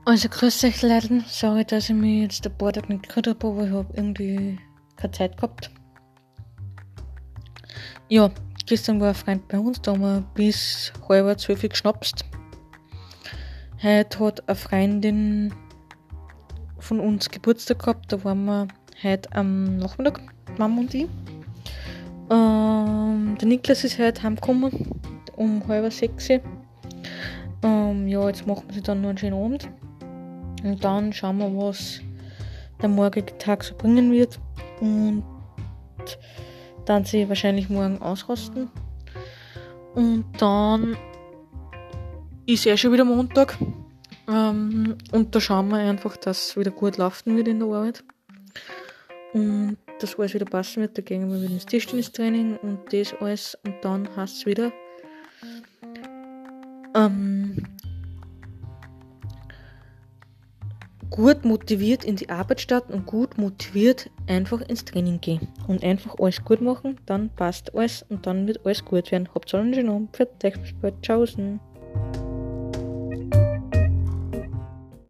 Also grüß euch Leute, sorry, dass ich mich jetzt ein paar Tage nicht gehört habe, aber ich habe irgendwie keine Zeit gehabt. Ja, gestern war ein Freund bei uns, da haben wir bis 11:30 geschnapst. Heute hat eine Freundin von uns Geburtstag gehabt, da waren wir heute am Nachmittag, Mama und ich. Der Niklas ist heute heimgekommen, um 5:30. Ja, jetzt machen wir sich dann noch einen schönen Abend. Und dann schauen wir, was der morgige Tag so bringen wird. Und dann sie wahrscheinlich morgen ausrasten. Und dann ist schon wieder Montag. Und da schauen wir einfach, dass es wieder gut laufen wird in der Arbeit. Und dass alles wieder passen wird. Da gehen wir wieder ins Tischtennistraining und das alles. Und dann heißt es wieder gut motiviert in die Arbeit starten und gut motiviert einfach ins Training gehen. Und einfach alles gut machen, dann passt alles und dann wird alles gut werden. Habt einen schönen Abend, für euch, bis bald, tschaußen.